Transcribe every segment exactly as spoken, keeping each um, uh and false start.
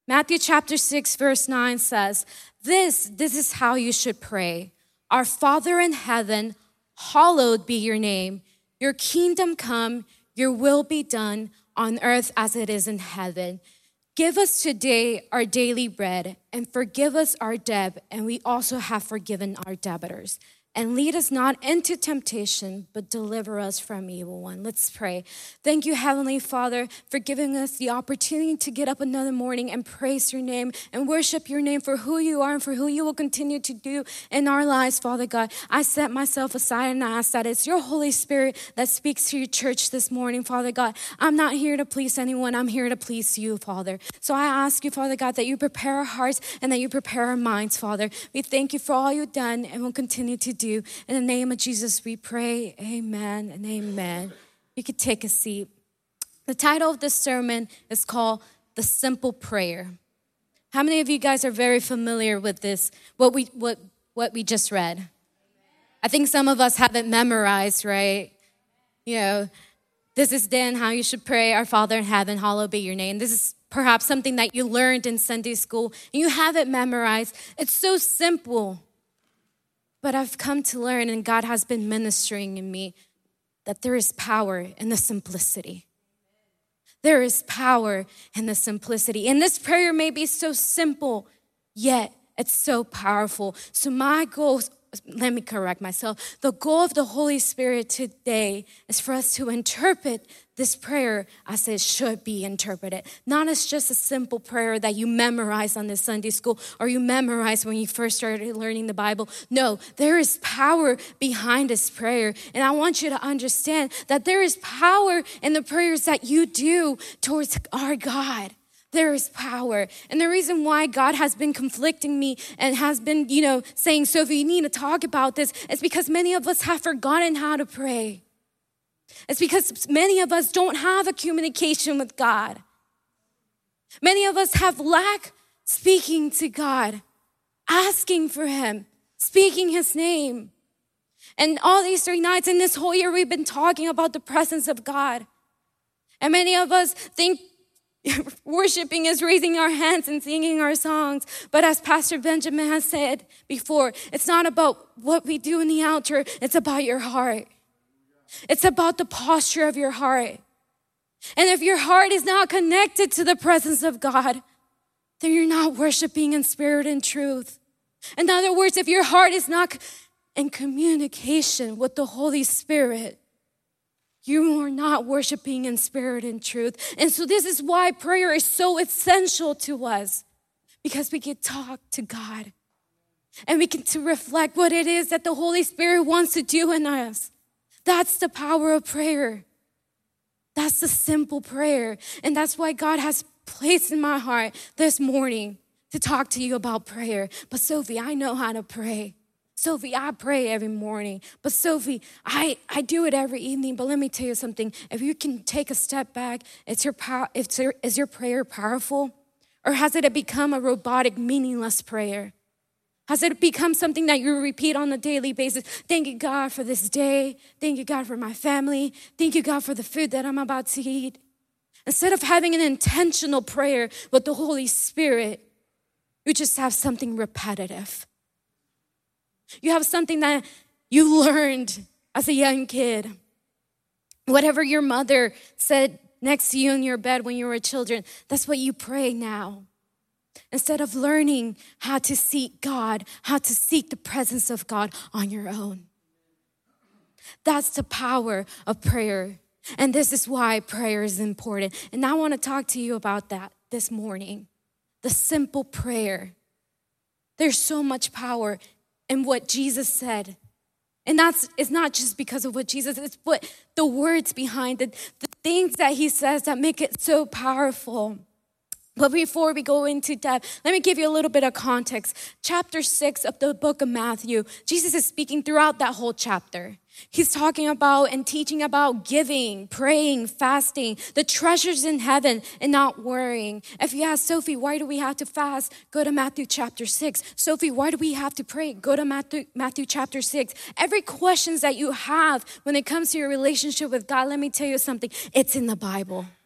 Matthew chapter six, verse nine says, this, this is how you should pray. Our Father in heaven, hallowed be your name. Your kingdom come, your will be done on earth as it is in heaven. Give us today our daily bread and forgive us our debt, and we also have forgiven our debtors. And lead us not into temptation, but deliver us from evil one. Let's pray. Thank you, Heavenly Father, for giving us the opportunity to get up another morning and praise your name and worship your name for who you are and for who you will continue to do in our lives, Father God. I set myself aside and I ask that it's your Holy Spirit that speaks to your church this morning, Father God. I'm not here to please anyone. I'm here to please you, Father. So I ask you, Father God, that you prepare our hearts and that you prepare our minds, Father. We thank you for all you've done and will continue to do. In the name of Jesus, we pray, amen and amen. You could take a seat. The title of this sermon is called The Simple Prayer. How many of you guys are very familiar with this, what we what what we just read? I think some of us have it memorized, right? You know, this is then how you should pray, our Father in heaven, hallowed be your name. This is perhaps something that you learned in Sunday school, and you have it memorized. It's so simple. But I've come to learn, and God has been ministering in me, that there is power in the simplicity. There is power in the simplicity. And this prayer may be so simple, yet it's so powerful. So my goal, let me correct myself. The goal of the Holy Spirit today is for us to interpret this prayer as it should be interpreted. Not as just a simple prayer that you memorize on the Sunday school or you memorize when you first started learning the Bible. No, there is power behind this prayer. And I want you to understand that there is power in the prayers that you do towards our God. There is power. And the reason why God has been conflicting me and has been, you know, saying, Sophie, you need to talk about this, is because many of us have forgotten how to pray. It's because many of us don't have a communication with God. Many of us have lack speaking to God, asking for him, speaking his name. And all these three nights in this whole year, we've been talking about the presence of God. And many of us think worshiping is raising our hands and singing our songs. But as Pastor Benjamin has said before, it's not about what we do in the altar. It's about your heart. It's about the posture of your heart. And if your heart is not connected to the presence of God, then you're not worshiping in spirit and truth. In other words, if your heart is not in communication with the Holy Spirit, you are not worshiping in spirit and truth. And so this is why prayer is so essential to us, because we can talk to God and we can to reflect what it is that the Holy Spirit wants to do in us. That's the power of prayer. That's the simple prayer. And that's why God has placed in my heart this morning to talk to you about prayer. But Sophie, I know how to pray. Sophie, I pray every morning. But Sophie, I, I do it every evening. But let me tell you something. If you can take a step back, it's your power, it's your, is your prayer powerful? Or has it become a robotic, meaningless prayer? Has it become something that you repeat on a daily basis? Thank you, God, for this day. Thank you, God, for my family. Thank you, God, for the food that I'm about to eat. Instead of having an intentional prayer with the Holy Spirit, you just have something repetitive. You have something that you learned as a young kid. Whatever your mother said next to you in your bed when you were children, that's what you pray now. Instead of learning how to seek God, how to seek the presence of God on your own. That's the power of prayer. And this is why prayer is important. And I want to talk to you about that this morning. The simple prayer. There's so much power in what Jesus said. And that's, it's not just because of what Jesus, it's what the words behind it, the things that he says that make it so powerful. But before we go into depth, let me give you a little bit of context. Chapter six of the book of Matthew, Jesus is speaking throughout that whole chapter. He's talking about and teaching about giving, praying, fasting, the treasures in heaven, and not worrying. If you ask Sophie, why do we have to fast? Go to Matthew chapter six. Sophie, why do we have to pray? Go to Matthew, Matthew chapter six. Every question that you have when it comes to your relationship with God, let me tell you something. It's in the Bible.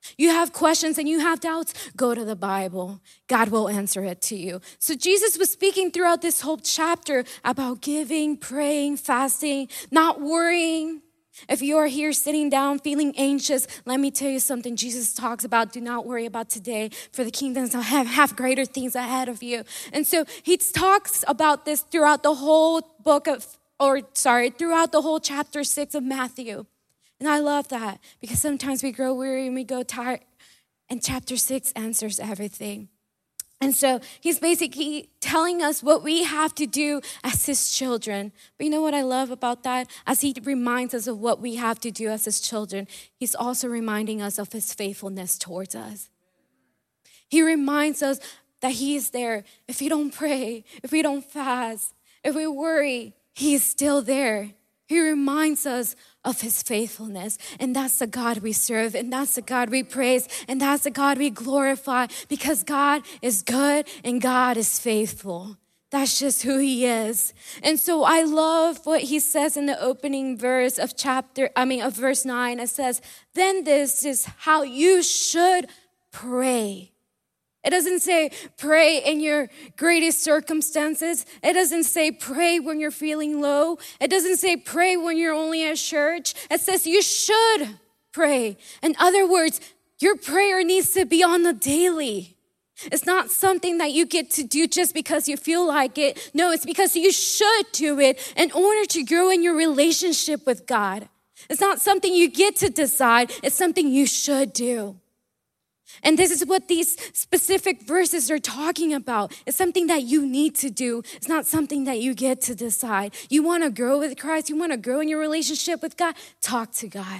You have questions and you have doubts, go to the Bible. God will answer it to you. So Jesus was speaking throughout this whole chapter about giving, praying, fasting, not worrying. If you are here sitting down feeling anxious, let me tell you something. Jesus talks about do not worry about today, for the kingdoms have, have greater things ahead of you. And so he talks about this throughout the whole book of, or sorry, throughout the whole chapter six of Matthew. And I love that because sometimes we grow weary and we go tired. And chapter six answers everything. And so he's basically telling us what we have to do as his children. But you know what I love about that? As he reminds us of what we have to do as his children, he's also reminding us of his faithfulness towards us. He reminds us that he is there. If we don't pray, if we don't fast, if we worry, he is still there. He reminds us of his faithfulness. And that's the God we serve. And that's the God we praise. And that's the God we glorify. Because God is good and God is faithful. That's just who he is. And so I love what he says in the opening verse of chapter, I mean, of verse nine. It says, then this is how you should pray. It doesn't say pray in your greatest circumstances. It doesn't say pray when you're feeling low. It doesn't say pray when you're only at church. It says you should pray. In other words, your prayer needs to be on the daily. It's not something that you get to do just because you feel like it. No, it's because you should do it in order to grow in your relationship with God. It's not something you get to decide. It's something you should do. And this is what these specific verses are talking about. It's something that you need to do. It's not something that you get to decide. You want to grow with Christ. You want to grow in your relationship with God. Talk to God.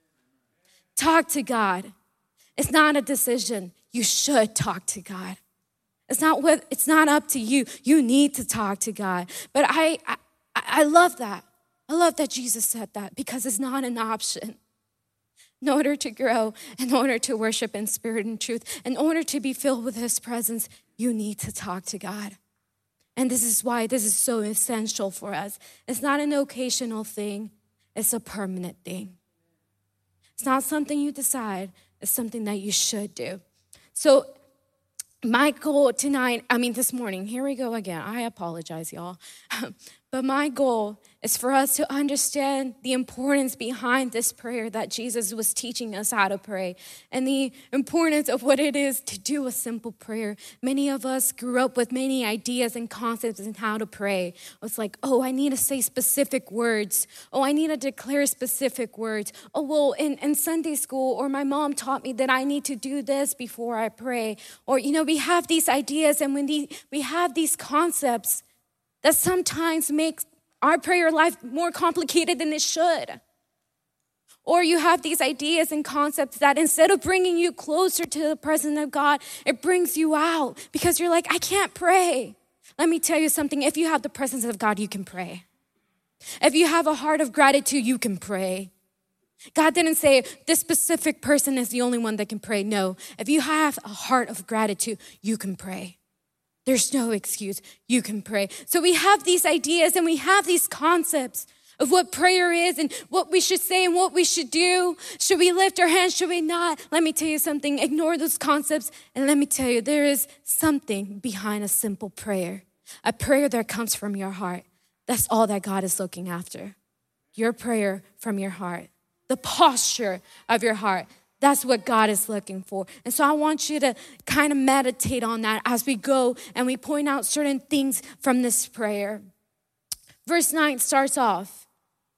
Talk to God. It's not a decision. You should talk to God. It's not what. It's not up to you. You need to talk to God. But I, I, I love that. I love that Jesus said that because it's not an option. In order to grow, in order to worship in spirit and truth, in order to be filled with his presence, you need to talk to God. And this is why this is so essential for us. It's not an occasional thing. It's a permanent thing. It's not something you decide. It's something that you should do. So my goal tonight, I mean this morning, here we go again. I apologize, y'all. But my goal is for us to understand the importance behind this prayer that Jesus was teaching us how to pray and the importance of what it is to do a simple prayer. Many of us grew up with many ideas and concepts in how to pray. It's like, oh, I need to say specific words. Oh, I need to declare specific words. Oh, well, in, in Sunday school, or my mom taught me that I need to do this before I pray. Or, you know, we have these ideas and when the, we have these concepts that sometimes make our prayer life more complicated than it should. Or you have these ideas and concepts that instead of bringing you closer to the presence of God, it brings you out because you're like, I can't pray. Let me tell you something. If you have the presence of God, you can pray. If you have a heart of gratitude, you can pray. God didn't say this specific person is the only one that can pray. No, if you have a heart of gratitude, you can pray. There's no excuse. You can pray. So we have these ideas and we have these concepts of what prayer is and what we should say and what we should do. Should we lift our hands? Should we not? Let me tell you something. Ignore those concepts. And let me tell you, there is something behind a simple prayer. A prayer that comes from your heart. That's all that God is looking after. Your prayer from your heart. The posture of your heart. That's what God is looking for. And so I want you to kind of meditate on that as we go and we point out certain things from this prayer. Verse nine starts off.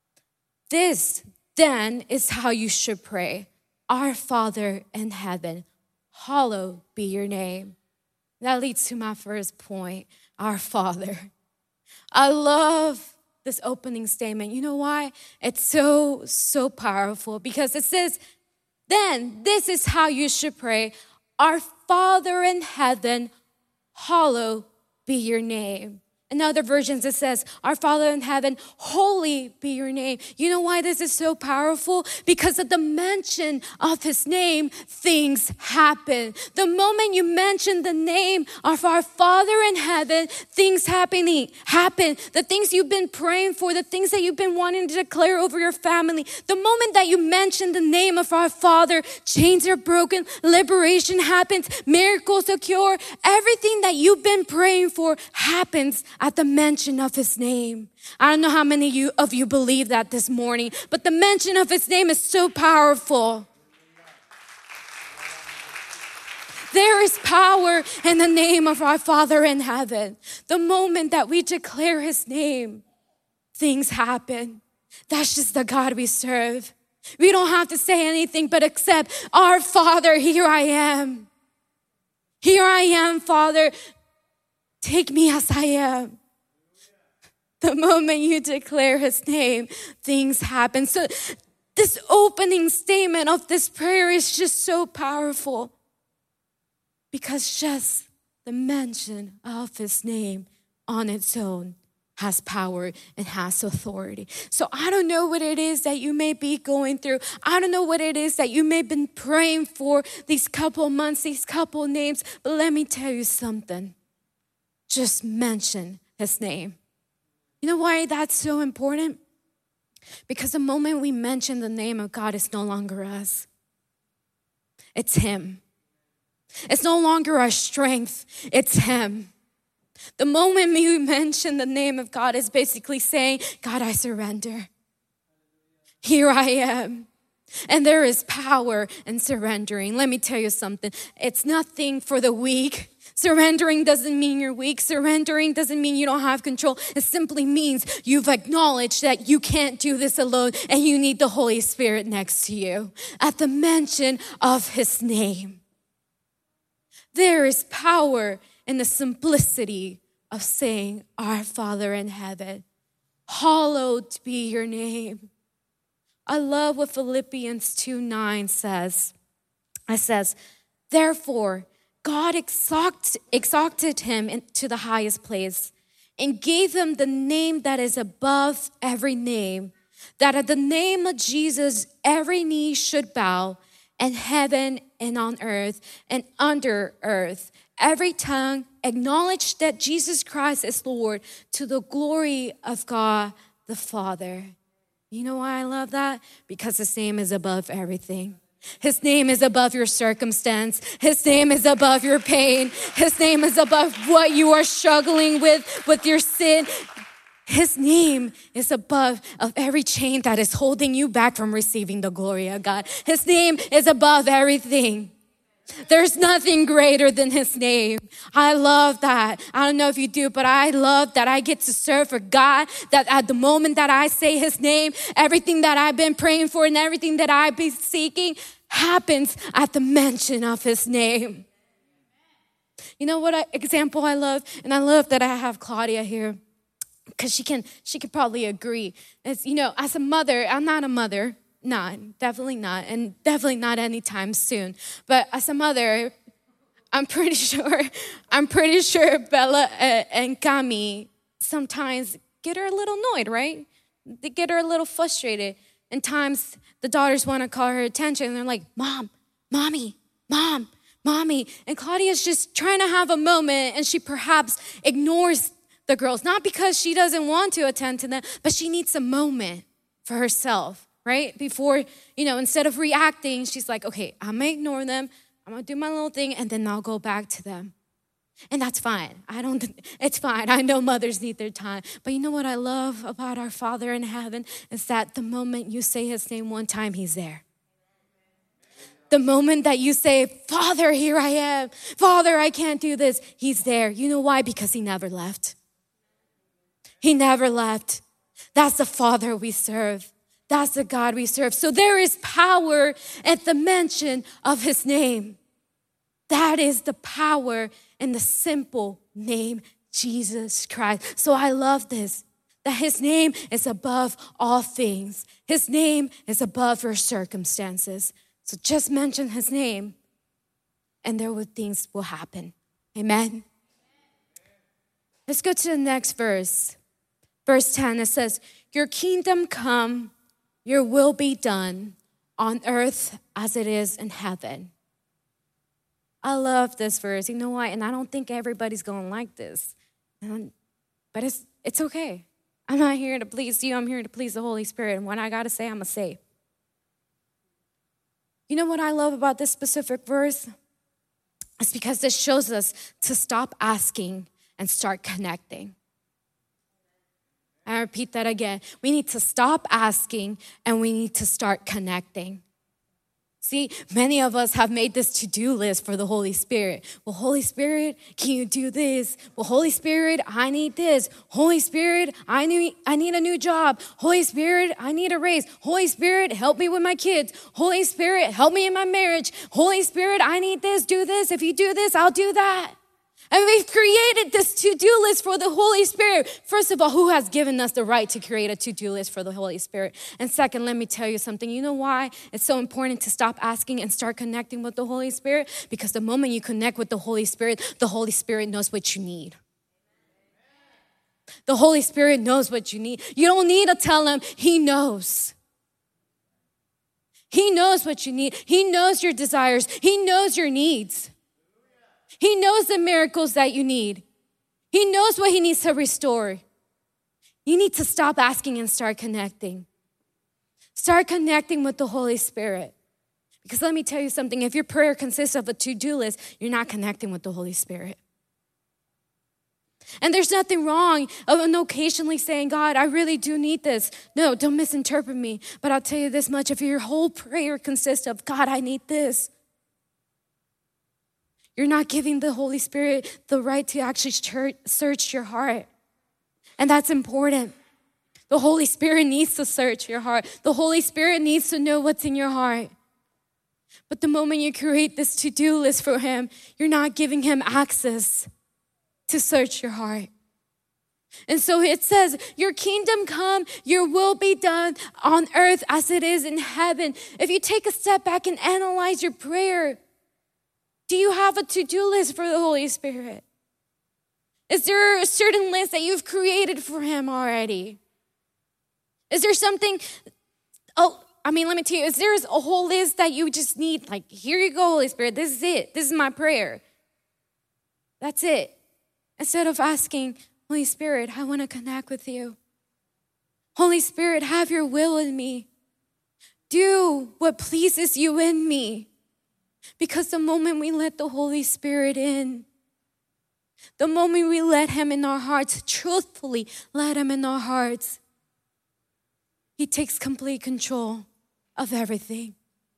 This then is how you should pray. Our Father in heaven, hallowed be your name. That leads to my first point, our Father. I love this opening statement. You know why? It's so, so powerful because it says, then this is how you should pray. Our Father in heaven, hallowed be your name. In other versions, it says, our Father in heaven, holy be your name. You know why this is so powerful? Because at the mention of his name, things happen. The moment you mention the name of our Father in heaven, things happening happen. The things you've been praying for, the things that you've been wanting to declare over your family. The moment that you mention the name of our Father, chains are broken, liberation happens, miracles occur. Everything that you've been praying for happens at the mention of his name. I don't know how many of you, of you believe that this morning, but the mention of his name is so powerful. There is power in the name of our Father in heaven. The moment that we declare his name, things happen. That's just the God we serve. We don't have to say anything but accept, our Father, here I am. Here I am, Father. Take me as I am. The moment you declare his name, things happen. So this opening statement of this prayer is just so powerful because just the mention of his name on its own has power and has authority. So I don't know what it is that you may be going through. I don't know what it is that you may have been praying for these couple months, these couple names, but let me tell you something. Just mention his name. You know why that's so important? Because the moment we mention the name of God, it's no longer us. It's him. It's no longer our strength. It's him. The moment we mention the name of God is basically saying, God, I surrender. Here I am. And there is power in surrendering. Let me tell you something. It's nothing for the weak. Surrendering doesn't mean you're weak. Surrendering doesn't mean you don't have control. It simply means you've acknowledged that you can't do this alone and you need the Holy Spirit next to you. At the mention of his name, there is power in the simplicity of saying, our Father in heaven, hallowed be your name. I love what Philippians two nine says. It says, therefore, God exalted, exalted him to the highest place and gave him the name that is above every name, that at the name of Jesus, every knee should bow, in heaven and on earth and under earth. Every tongue acknowledge that Jesus Christ is Lord, to the glory of God the Father. You know why I love that? Because his name is above everything. His name is above your circumstance. His name is above your pain. His name is above what you are struggling with, with your sin. His name is above of every chain that is holding you back from receiving the glory of God. His name is above everything. There's nothing greater than his name. I love that. I don't know if you do, but I love that I get to serve for God, that at the moment that I say his name, everything that I've been praying for and everything that I've been seeking happens at the mention of his name. You know what example I love? And I love that I have Claudia here because she can, she could probably agree. It's, you know, as a mother, I'm not a mother. Not, definitely not, and definitely not anytime soon. But as a mother, I'm pretty sure, I'm pretty sure Bella and Cami sometimes get her a little annoyed, right? They get her a little frustrated. And times the daughters want to call her attention, and they're like, Mom, Mommy, Mom, Mommy. And Claudia's just trying to have a moment, and she perhaps ignores the girls, not because she doesn't want to attend to them, but she needs a moment for herself. Right? Before, you know, instead of reacting, she's like, okay, I'm going to ignore them. I'm going to do my little thing, and then I'll go back to them. And that's fine. I don't, it's fine. I know mothers need their time. But you know what I love about our Father in heaven is that the moment you say his name one time, he's there. The moment that you say, Father, here I am. Father, I can't do this. He's there. You know why? Because he never left. He never left. That's the Father we serve. That's the God we serve. So there is power at the mention of his name. That is the power in the simple name, Jesus Christ. So I love this, that his name is above all things. His name is above your circumstances. So just mention his name and there will things will happen. Amen. Let's go to the next verse. Verse ten, it says, your kingdom come, your will be done on earth as it is in heaven. I love this verse. You know why? And I don't think everybody's going to like this. Um, but it's it's okay. I'm not here to please you. I'm here to please the Holy Spirit. And what I got to say, I'm going to say. You know what I love about this specific verse? It's because this shows us to stop asking and start connecting. I repeat that again. We need to stop asking and we need to start connecting. See, many of us have made this to-do list for the Holy Spirit. Well, Holy Spirit, can you do this? Well, Holy Spirit, I need this. Holy Spirit, I need, I need a new job. Holy Spirit, I need a raise. Holy Spirit, help me with my kids. Holy Spirit, help me in my marriage. Holy Spirit, I need this, do this. If you do this, I'll do that. And we've created this to-do list for the Holy Spirit. First of all, who has given us the right to create a to-do list for the Holy Spirit? And second, let me tell you something. You know why it's so important to stop asking and start connecting with the Holy Spirit? Because the moment you connect with the Holy Spirit, the Holy Spirit knows what you need. The Holy Spirit knows what you need. You don't need to tell him. He knows. He knows what you need. He knows your desires. He knows your needs. He knows the miracles that you need. He knows what he needs to restore. You need to stop asking and start connecting. Start connecting with the Holy Spirit. Because let me tell you something, if your prayer consists of a to-do list, you're not connecting with the Holy Spirit. And there's nothing wrong of occasionally saying, God, I really do need this. No, don't misinterpret me. But I'll tell you this much, if your whole prayer consists of, God, I need this, you're not giving the Holy Spirit the right to actually search your heart. And that's important. The Holy Spirit needs to search your heart. The Holy Spirit needs to know what's in your heart. But the moment you create this to-do list for him, you're not giving him access to search your heart. And so it says, your kingdom come, your will be done on earth as it is in heaven. If you take a step back and analyze your prayer, do you have a to-do list for the Holy Spirit? Is there a certain list that you've created for him already? Is there something, oh, I mean, let me tell you, is there a whole list that you just need, like, here you go, Holy Spirit, this is it. This is my prayer. That's it. Instead of asking, Holy Spirit, I want to connect with you. Holy Spirit, have your will in me. Do what pleases you in me. Because the moment we let the Holy Spirit in, the moment we let him in our hearts, truthfully let him in our hearts, he takes complete control of everything.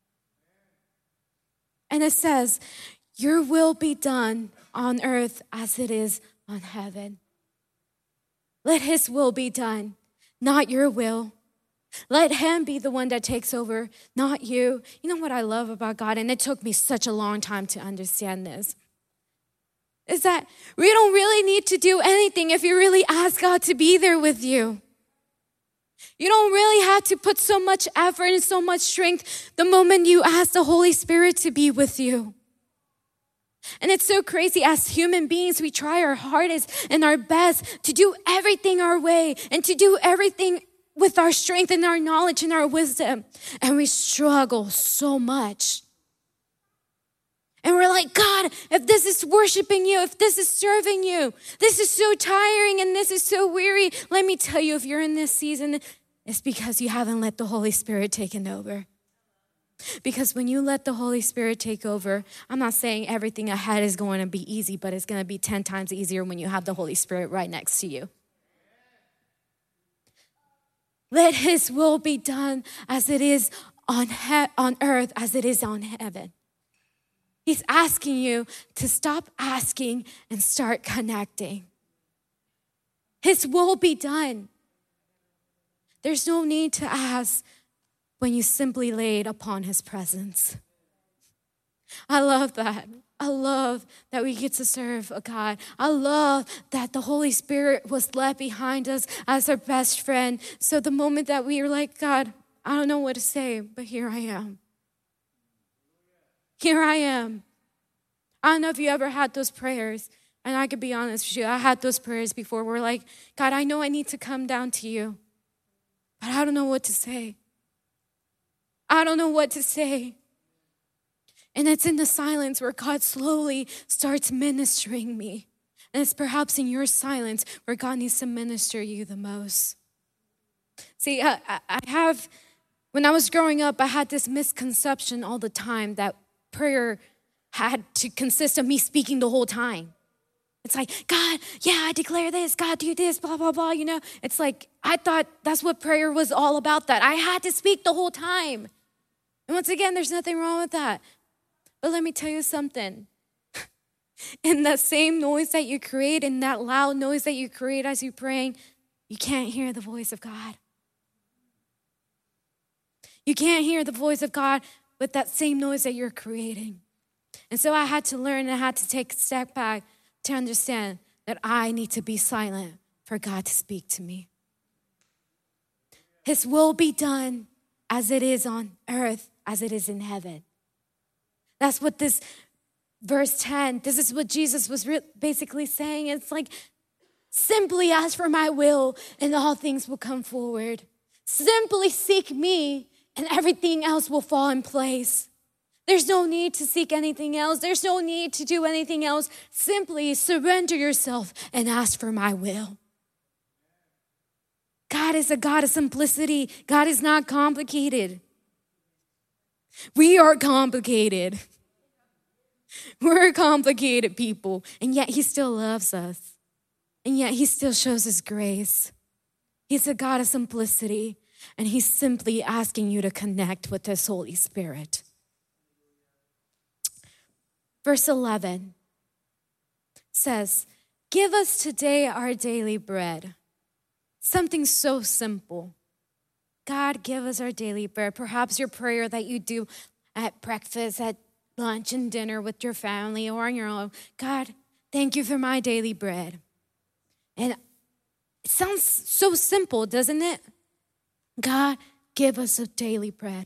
And it says, your will be done on earth as it is on heaven. Let his will be done, not your will. Let him be the one that takes over, not you. You know what I love about God, and it took me such a long time to understand this, is that we don't really need to do anything if you really ask God to be there with you. You don't really have to put so much effort and so much strength the moment you ask the Holy Spirit to be with you. And it's so crazy, as human beings, we try our hardest and our best to do everything our way and to do everything with our strength and our knowledge and our wisdom. And we struggle so much. And we're like, God, if this is worshiping you, if this is serving you, this is so tiring and this is so weary. Let me tell you, if you're in this season, it's because you haven't let the Holy Spirit take over. Because when you let the Holy Spirit take over, I'm not saying everything ahead is going to be easy, but it's going to be ten times easier when you have the Holy Spirit right next to you. Let his will be done as it is on, he- on earth, as it is on heaven. He's asking you to stop asking and start connecting. His will be done. There's no need to ask when you simply lay it upon his presence. I love that. I love that we get to serve a God. I love that the Holy Spirit was left behind us as our best friend. So the moment that we were like, God, I don't know what to say, but here I am. Here I am. I don't know if you ever had those prayers And I could be honest with you, I had those prayers before where like, God, I know I need to come down to you, but I don't know what to say. I don't know what to say. And it's in the silence where God slowly starts ministering me. And it's perhaps in your silence where God needs to minister you the most. See, I, I have, when I was growing up, I had this misconception all the time that prayer had to consist of me speaking the whole time. It's like, God, yeah, I declare this, God, do this, blah, blah, blah, you know. It's like, I thought that's what prayer was all about, that I had to speak the whole time. And once again, there's nothing wrong with that. But let me tell you something. In that same noise that you create, in that loud noise that you create as you're praying, you can't hear the voice of God. You can't hear the voice of God with that same noise that you're creating. And so I had to learn, and I had to take a step back to understand that I need to be silent for God to speak to me. His will be done as it is on earth, as it is in heaven. That's what this verse ten, this is what Jesus was re- basically saying. It's like, simply ask for my will and all things will come forward. Simply seek me and everything else will fall in place. There's no need to seek anything else. There's no need to do anything else. Simply surrender yourself and ask for my will. God is a God of simplicity. God is not complicated. We are complicated. We're complicated people, and yet he still loves us. And yet he still shows his grace. He's a God of simplicity, and he's simply asking you to connect with his Holy Spirit. Verse eleven says, give us today our daily bread. Something so simple. God, give us our daily bread. Perhaps your prayer that you do at breakfast, at lunch and dinner with your family or on your own. God, thank you for my daily bread. And it sounds so simple, doesn't it? God, give us a daily bread.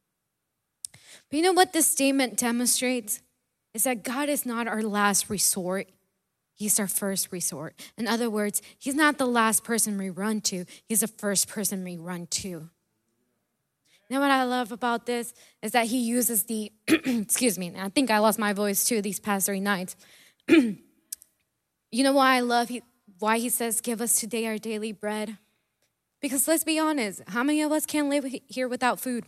But you know what this statement demonstrates? Is that God is not our last resort. He's our first resort. In other words, he's not the last person we run to. He's the first person we run to. You know what I love about this is that he uses the, excuse me, I think I lost my voice too these past three nights. You know why I love he, why he says, give us today our daily bread? Because let's be honest, how many of us can live here without food?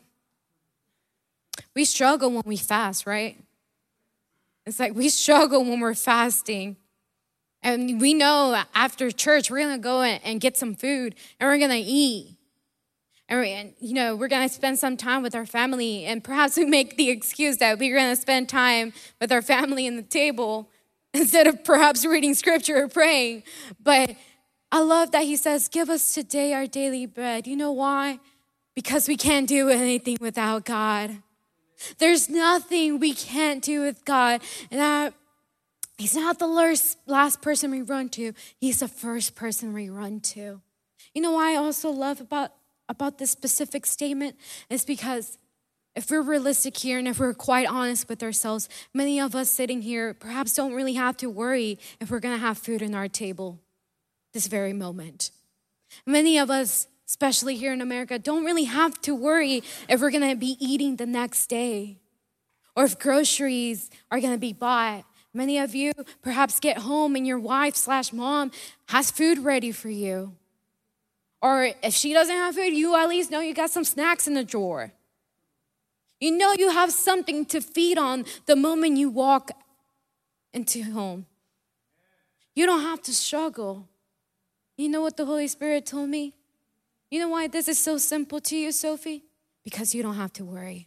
We struggle when we fast, right? It's like we struggle when we're fasting. And we know after church, we're going to go and get some food and we're going to eat. And, we, and, you know, we're going to spend some time with our family. And perhaps we make the excuse that we're going to spend time with our family in the table instead of perhaps reading scripture or praying. But I love that he says, give us today our daily bread. You know why? Because we can't do anything without God. There's nothing we can't do with God. And I, he's not the last, last person we run to. He's the first person we run to. You know why I also love about, about this specific statement? It's because if we're realistic here and if we're quite honest with ourselves, many of us sitting here perhaps don't really have to worry if we're going to have food on our table this very moment. Many of us, especially here in America, don't really have to worry if we're going to be eating the next day or if groceries are going to be bought. Many of you perhaps get home and your wife slash mom has food ready for you. Or if she doesn't have food, you at least know you got some snacks in the drawer. You know you have something to feed on the moment you walk into home. You don't have to struggle. You know what the Holy Spirit told me? You know why this is so simple to you, Sophie? Because you don't have to worry.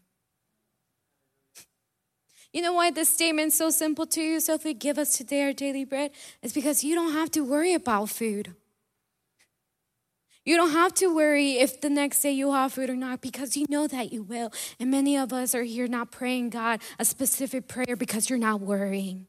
You know why this statement is so simple to you, Sophie? Give us today our daily bread. It's because you don't have to worry about food. You don't have to worry if the next day you'll have food or not, because you know that you will. And many of us are here not praying God a specific prayer because you're not worrying.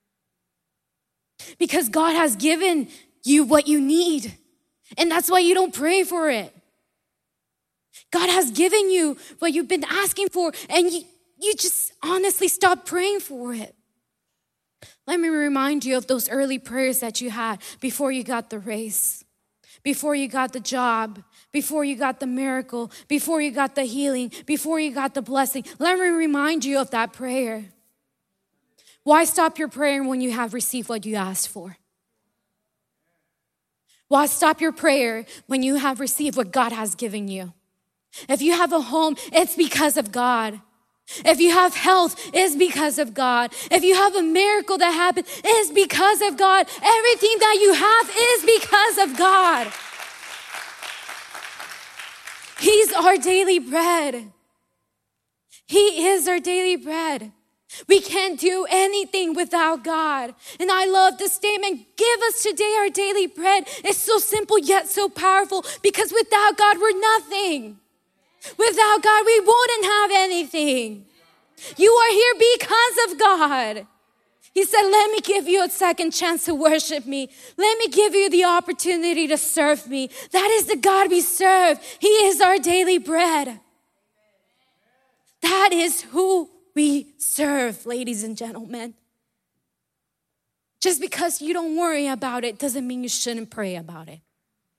Because God has given you what you need. And that's why you don't pray for it. God has given you what you've been asking for, and you, you just honestly stop praying for it. Let me remind you of those early prayers that you had before you got the race, before you got the job, before you got the miracle, before you got the healing, before you got the blessing. Let me remind you of that prayer. Why stop your prayer when you have received what you asked for? Why stop your prayer when you have received what God has given you? If you have a home, it's because of God. If you have health, it's because of God. If you have a miracle that happened, it's because of God. Everything that you have is because of God. He's our daily bread. He is our daily bread. We can't do anything without God. And I love the statement, give us today our daily bread. It's so simple yet so powerful, because without God, we're nothing. Without God, we wouldn't have anything. You are here because of God. He said, let me give you a second chance to worship me. Let me give you the opportunity to serve me. That is the God we serve. He is our daily bread. That is who we serve, ladies and gentlemen. Just because you don't worry about it doesn't mean you shouldn't pray about it.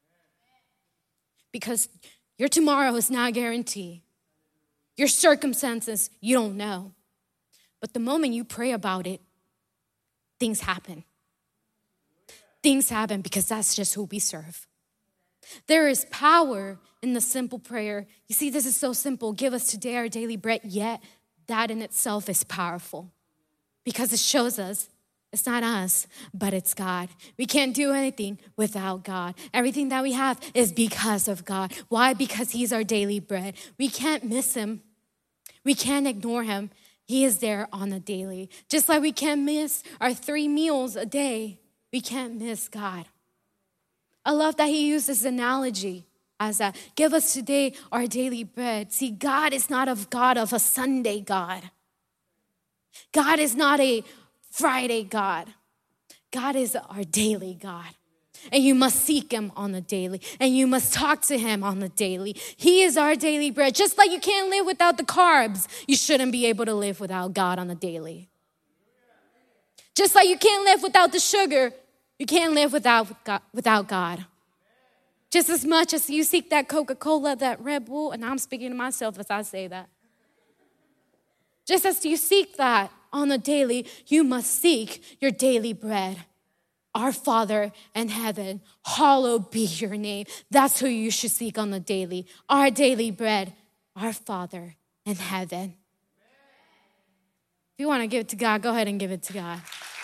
Because your tomorrow is not guaranteed. Your circumstances, you don't know. But the moment you pray about it, things happen. Things happen because that's just who we serve. There is power in the simple prayer. You see, this is so simple. Give us today our daily bread, yet that in itself is powerful because it shows us it's not us, but it's God. We can't do anything without God. Everything that we have is because of God. Why? Because He's our daily bread. We can't miss Him. We can't ignore Him. He is there on the daily. Just like we can't miss our three meals a day, we can't miss God. I love that He used this analogy as that. Give us today our daily bread. See, God is not a God of a Sunday God. God is not a Friday God. God is our daily God. And you must seek Him on the daily. And you must talk to Him on the daily. He is our daily bread. Just like you can't live without the carbs, you shouldn't be able to live without God on the daily. Just like you can't live without the sugar, you can't live without God, without God. Just as much as you seek that Coca-Cola, that Red Bull, and I'm speaking to myself as I say that. Just as you seek that on the daily, you must seek your daily bread. Our Father in heaven, hallowed be your name. That's who you should seek on the daily. Our daily bread, our Father in heaven. If you want to give it to God, go ahead and give it to God.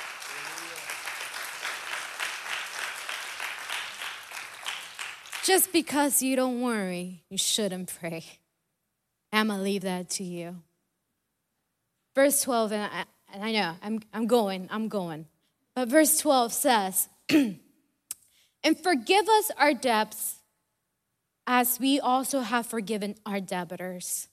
Just because you don't worry, you shouldn't pray. I'm going to leave that to you. Verse twelve, and I, and I know, I'm, I'm going, I'm going. But verse twelve says, and forgive us our debts as we also have forgiven our debtors.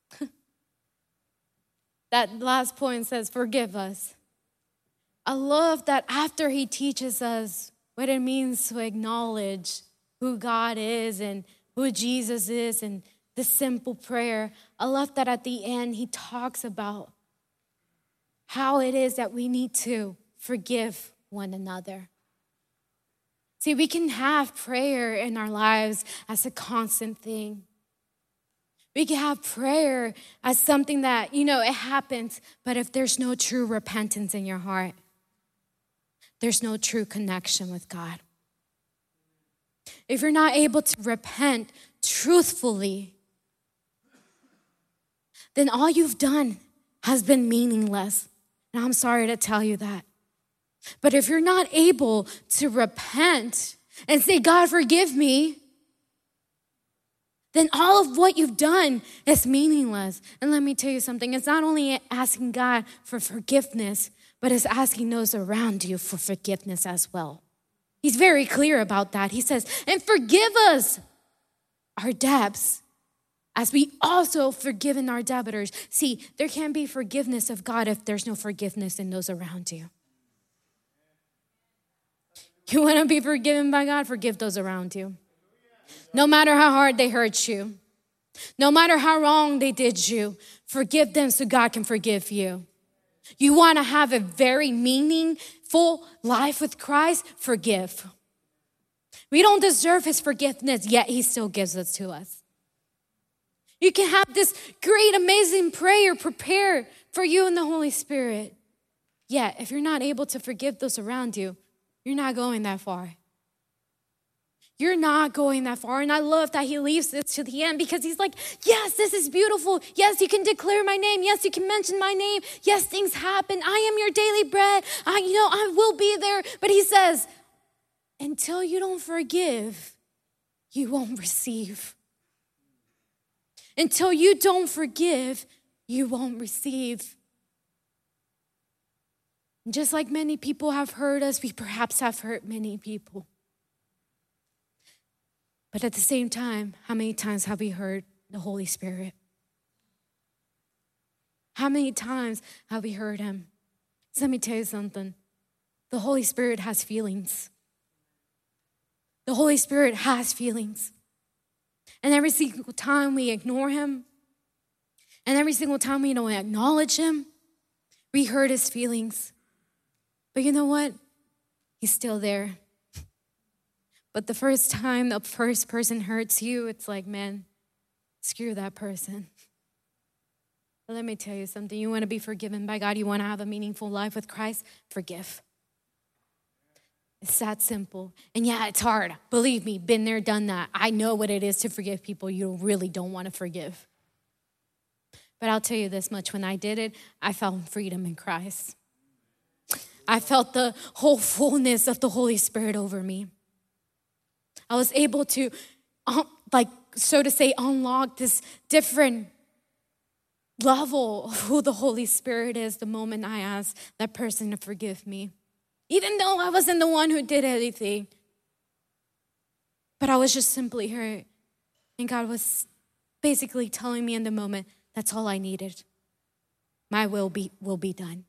That last point says, forgive us. I love that after He teaches us what it means to acknowledge who God is and who Jesus is and this simple prayer, I love that at the end He talks about how it is that we need to forgive one another. See, we can have prayer in our lives as a constant thing. We can have prayer as something that, you know, it happens, but if there's no true repentance in your heart, there's no true connection with God. If you're not able to repent truthfully, then all you've done has been meaningless. And I'm sorry to tell you that. But if you're not able to repent and say, God, forgive me, then all of what you've done is meaningless. And let me tell you something. It's not only asking God for forgiveness, but it's asking those around you for forgiveness as well. He's very clear about that. He says, and forgive us our debts as we also forgiven our debtors. See, there can't be forgiveness of God if there's no forgiveness in those around you. You want to be forgiven by God? Forgive those around you. No matter how hard they hurt you, no matter how wrong they did you, forgive them so God can forgive you. You want to have a very meaningful life with Christ? Forgive. We don't deserve his forgiveness, yet he still gives it to us. You can have this great, amazing prayer prepared for you and the Holy Spirit. Yet, if you're not able to forgive those around you, you're not going that far. You're not going that far. And I love that he leaves this to the end because he's like, yes, this is beautiful. Yes, you can declare my name. Yes, you can mention my name. Yes, things happen. I am your daily bread. I, you know, I will be there. But he says, until you don't forgive, you won't receive. Until you don't forgive, you won't receive. And just like many people have hurt us, we perhaps have hurt many people. But at the same time, how many times have we heard the Holy Spirit? How many times have we heard him? So let me tell you something. The Holy Spirit has feelings. The Holy Spirit has feelings. And every single time we ignore him, and every single time we don't acknowledge him, we hurt his feelings. But you know what? He's still there. But the first time the first person hurts you, it's like, man, screw that person. But let me tell you something. You want to be forgiven by God? You want to have a meaningful life with Christ? Forgive. It's that simple. And yeah, it's hard. Believe me, been there, done that. I know what it is to forgive people you really don't want to forgive. But I'll tell you this much. When I did it, I felt freedom in Christ. I felt the whole fullness of the Holy Spirit over me. I was able to, um, like, so to say, unlock this different level of who the Holy Spirit is the moment I asked that person to forgive me. Even though I wasn't the one who did anything. But I was just simply hurt. And God was basically telling me in the moment, that's all I needed. My will be will be done.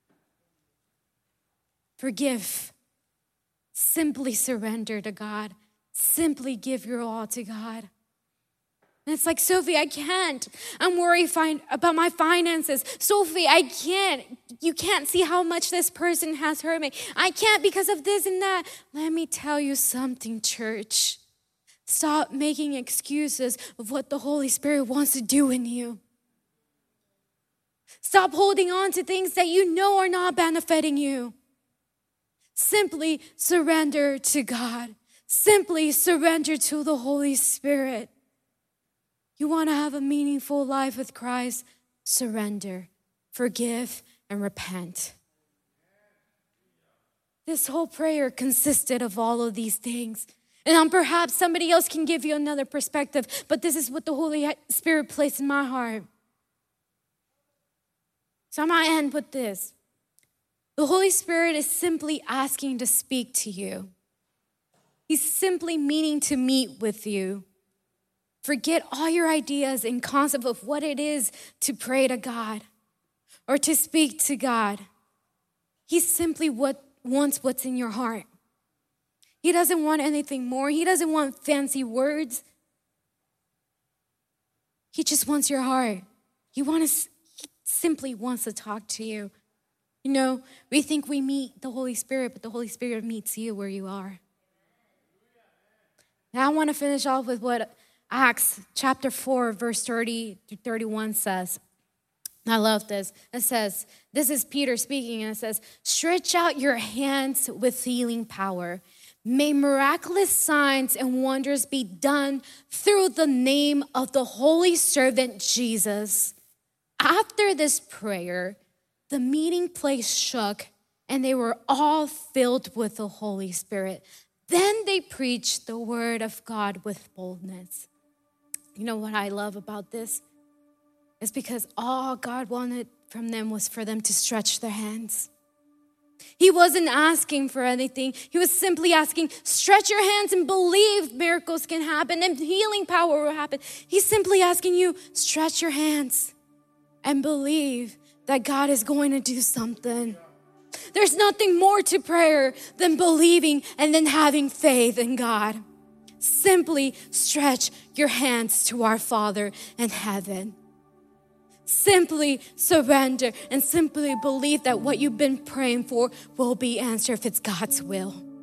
Forgive. Simply surrender to God. Simply give your all to God. And it's like, Sophie, I can't. I'm worried fin- about my finances. Sophie, I can't. You can't see how much this person has hurt me. I can't because of this and that. Let me tell you something, church. Stop making excuses of what the Holy Spirit wants to do in you. Stop holding on to things that you know are not benefiting you. Simply surrender to God. Simply surrender to the Holy Spirit. You want to have a meaningful life with Christ? Surrender, forgive, and repent. This whole prayer consisted of all of these things. And um, perhaps somebody else can give you another perspective, but this is what the Holy Spirit placed in my heart. So I'm going to end with this. The Holy Spirit is simply asking to speak to you. He's simply meaning to meet with you. Forget all your ideas and concept of what it is to pray to God or to speak to God. He simply what, wants what's in your heart. He doesn't want anything more. He doesn't want fancy words. He just wants your heart. He, wants, he simply wants to talk to you. You know, we think we meet the Holy Spirit, but the Holy Spirit meets you where you are. Now I want to finish off with what Acts chapter four, verse thirty to thirty-one says. I love this. It says, this is Peter speaking, and it says, stretch out your hands with healing power. May miraculous signs and wonders be done through the name of the holy servant Jesus. After this prayer, the meeting place shook, and they were all filled with the Holy Spirit. Then they preached the word of God with boldness. You know what I love about this? It's because all God wanted from them was for them to stretch their hands. He wasn't asking for anything. He was simply asking, stretch your hands and believe miracles can happen and healing power will happen. He's simply asking you, stretch your hands and believe that God is going to do something. There's nothing more to prayer than believing and then having faith in God. Simply stretch your hands to our Father in heaven. Simply surrender and simply believe that what you've been praying for will be answered if it's God's will.